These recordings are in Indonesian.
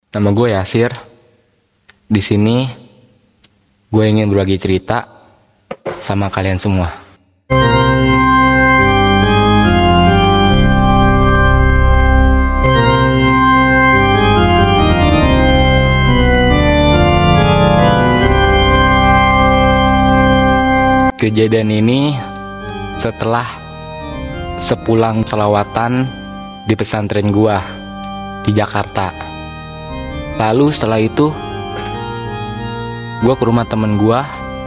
Nama gue Yasir. Di sini gue ingin berbagi cerita sama kalian semua. Kejadian ini setelah sepulang selawatan di pesantren gua di Jakarta. Lalu setelah itu gua ke rumah temen gua,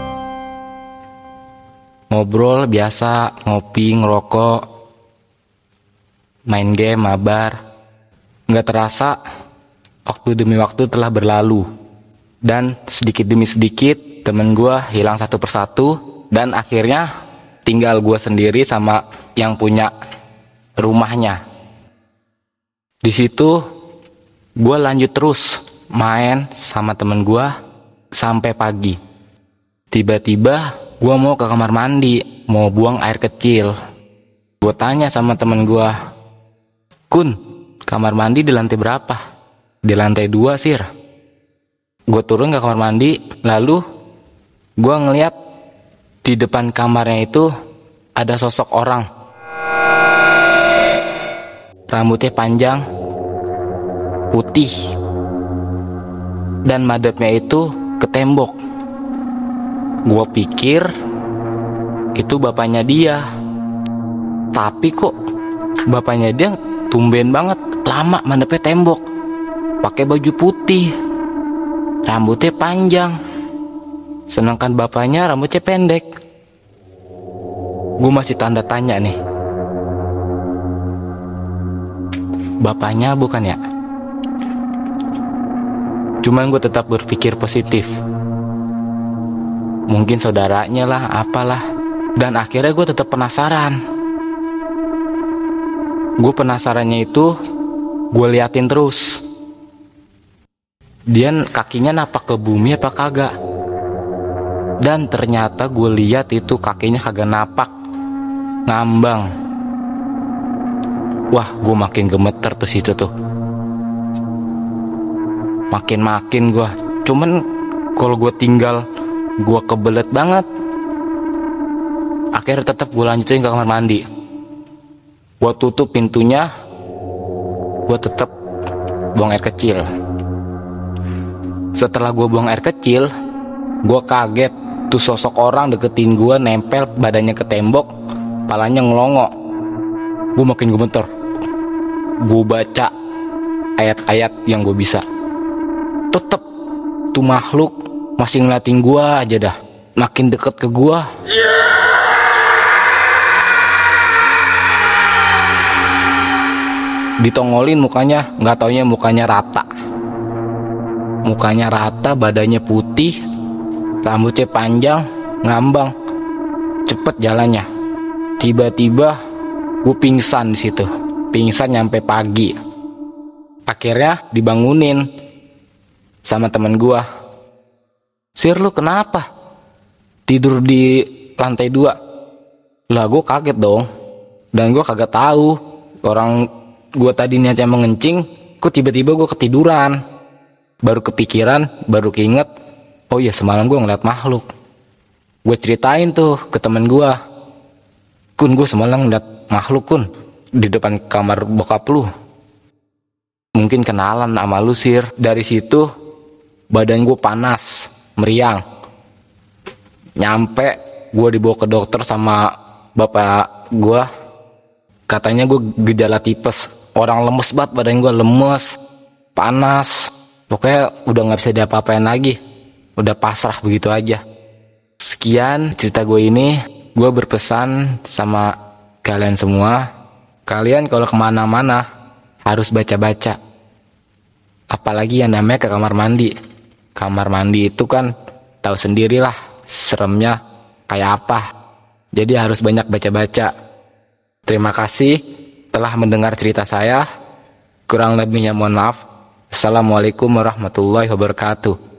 ngobrol biasa, ngopi, ngerokok, main game, mabar. Nggak terasa waktu demi waktu telah berlalu, dan sedikit demi sedikit temen gua hilang satu persatu. Dan akhirnya tinggal gue sendiri sama yang punya rumahnya. Di situ gue lanjut terus main sama temen gue sampai pagi. Tiba-tiba gue mau ke kamar mandi, mau buang air kecil. Gue tanya sama temen gue, "Kun, kamar mandi di lantai berapa?" "Di lantai 2, Sir." Gue turun ke kamar mandi, lalu gue ngeliat di depan kamarnya itu ada sosok orang. Rambutnya panjang, putih, dan madepnya itu ke tembok. Gua pikir itu bapaknya dia. Tapi kok bapaknya dia tumben banget lama madepnya tembok. Pakai baju putih, rambutnya panjang. Sedangkan bapaknya rambutnya pendek. Gue masih tanda tanya nih. Bapaknya bukan ya? Cuman gue tetap berpikir positif. Mungkin saudaranya lah, apalah. Dan akhirnya gue tetap penasaran. Gue penasarannya itu gue liatin terus. Dia kakinya napak ke bumi apa kagak? Dan ternyata gue lihat itu kakinya kagak napak, ngambang. Wah, gue makin gemeter tuh situ tuh. Makin gue. Cuman kalau gue tinggal, gue kebelet banget. Akhirnya tetap gue lanjutin ke kamar mandi. Gue tutup pintunya. Gue tetap buang air kecil. Setelah gue buang air kecil, gue kaget. Tuh sosok orang deketin gue, nempel badannya ke tembok, palanya ngelongo. Gue makin gemeter. Gue baca ayat-ayat yang gue bisa. Tetep tuh makhluk masih ngeliatin gue aja dah. Makin deket ke gue. Ditongolin mukanya, nggak taunya mukanya rata. Mukanya rata, badannya putih, rambutnya panjang, ngambang, cepet jalannya. Tiba-tiba gue pingsan di situ, pingsan nyampe pagi. Akhirnya dibangunin sama temen gue. "Sir, lu kenapa tidur di lantai 2? Lah gue kaget dong, dan gue kagak tahu orang gue tadi niatnya mengencing, kok tiba-tiba gue ketiduran. Baru kepikiran, baru keinget, oh iya semalam gue ngeliat makhluk. Gue ceritain tuh ke temen gue, "Kun, gue semalam ngeliat makhluk, Kun, di depan kamar bokap lu. Mungkin kenalan sama lu, Sir." Dari situ badan gue panas, meriang. Nyampe gue dibawa ke dokter sama bapak gue. Katanya gue gejala tipes. Orang lemes banget, badan gue lemes, panas. Pokoknya udah gak bisa diapa-apain lagi. Udah pasrah begitu aja. Sekian cerita gue ini. Gue berpesan sama kalian semua, kalian kalau kemana-mana harus baca-baca. Apalagi yang namanya ke kamar mandi. Kamar mandi itu kan tahu sendirilah seremnya kayak apa. Jadi harus banyak baca-baca. Terima kasih telah mendengar cerita saya. Kurang lebihnya mohon maaf. Assalamualaikum warahmatullahi wabarakatuh.